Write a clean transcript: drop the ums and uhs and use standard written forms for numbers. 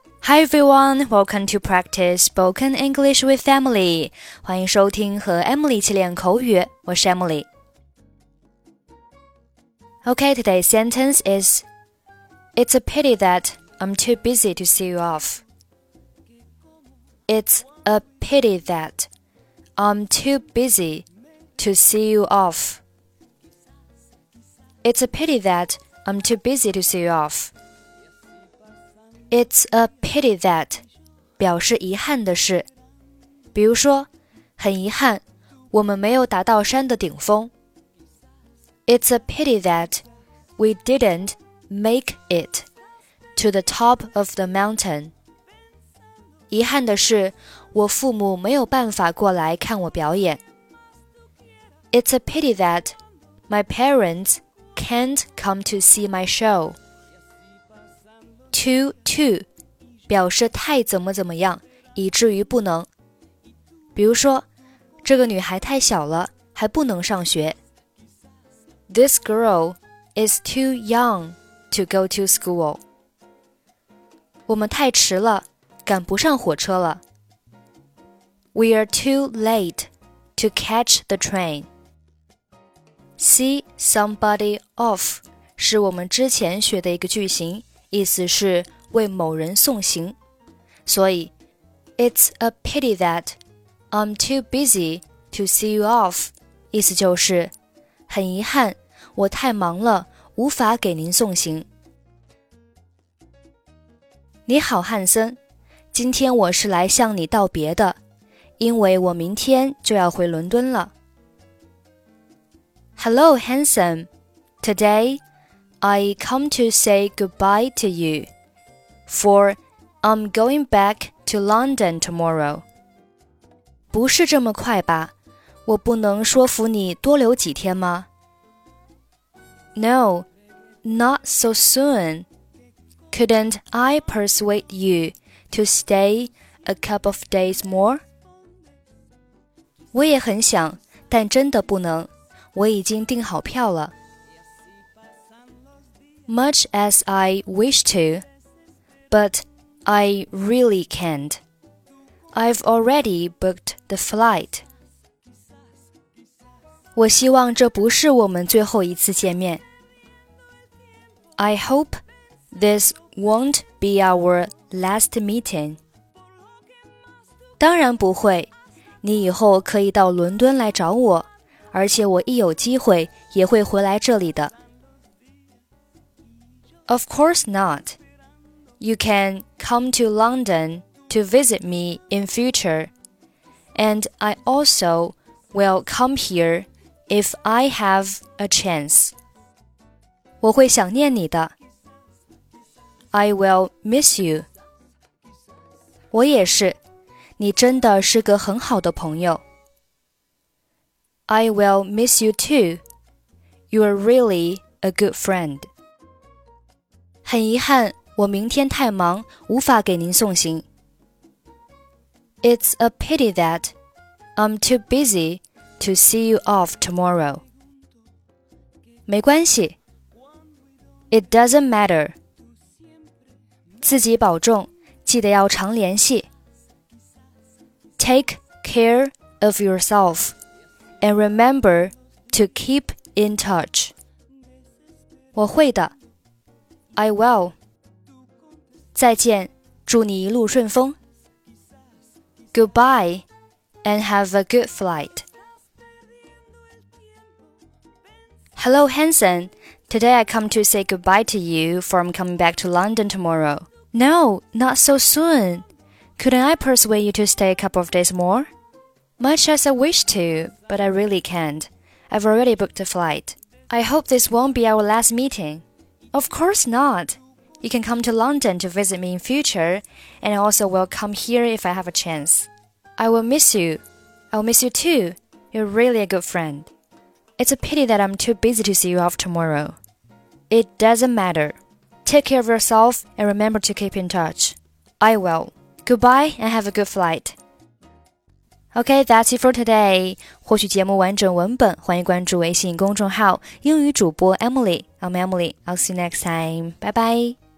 Hi everyone, welcome to practice spoken English with Emily. 欢迎收听和 Emily 一起练口语，我是 Emily. Okay, today's sentence is It's a pity that I'm too busy to see you off. It's a pity that I'm too busy to see you off. It's a pity that I'm too busy to see you off.It's a pity that 表示遗憾的事，比如说，很遗憾，我们没有达到山的顶峰。It's a pity that we didn't make it to the top of the mountain. 遗憾的是，我父母没有办法过来看我表演。It's a pity that my parents can't come to see my show.Too 表示太怎么样，以至于不能。比如说，这个女孩太小了，还不能上学。This girl is too young to go to school. 我们太迟了，赶不上火车了。We are too late to catch the train. See somebody off 是我们之前学的一个句型。意思是为某人送行，所以 It's a pity that I'm too busy to see you off 意思就是很遗憾，我太忙了，无法给您送行。你好，汉森，今天我是来向你道别的，因为我明天就要回伦敦了。Hello, handsome. Today,I come to say goodbye to you, for I'm going back to London tomorrow. 不是这么快吧？我不能说服你多留几天吗？ No, not so soon. Couldn't I persuade you to stay a couple of days more? 我也很想，但真的不能，我已经订好票了。Much as I wish to, but I really can't. I've already booked the flight. 我希望这不是我们最后一次见面。I hope this won't be our last meeting. 当然不会，你以后可以到伦敦来找我，而且我一有机会也会回来这里的。Of course not. You can come to London to visit me in future, and I also will come here if I have a chance. 我会想念你的。I will miss you. 我也是，你真的是个很好的朋友。I will miss you too. You are really a good friend.很遗憾，我明天太忙，无法给您送行。It's a pity that I'm too busy to see you off tomorrow. 没关系。It doesn't matter. 自己保重，记得要常联系。Take care of yourself and remember to keep in touch. 我会的。I will. 再见，祝你一路顺风。Goodbye, and have a good flight. Hello, Hanson. Today I come to say goodbye to you, for I'm coming back to London tomorrow. No, not so soon. Couldn't I persuade you to stay a couple of days more? Much as I wish to, but I really can't. I've already booked a flight. I hope this won't be our last meeting.Of course not. You can come to London to visit me in future, and I also will come here if I have a chance. I will miss you. I will miss you too. You're really a good friend. It's a pity that I'm too busy to see you off tomorrow. It doesn't matter. Take care of yourself and remember to keep in touch. I will. Goodbye and have a good flight. Okay, that's it for today. 获取节目完整文本，欢迎关注微信公众号英语主播 Emily. I'm Emily. I'll see you next time. Bye bye.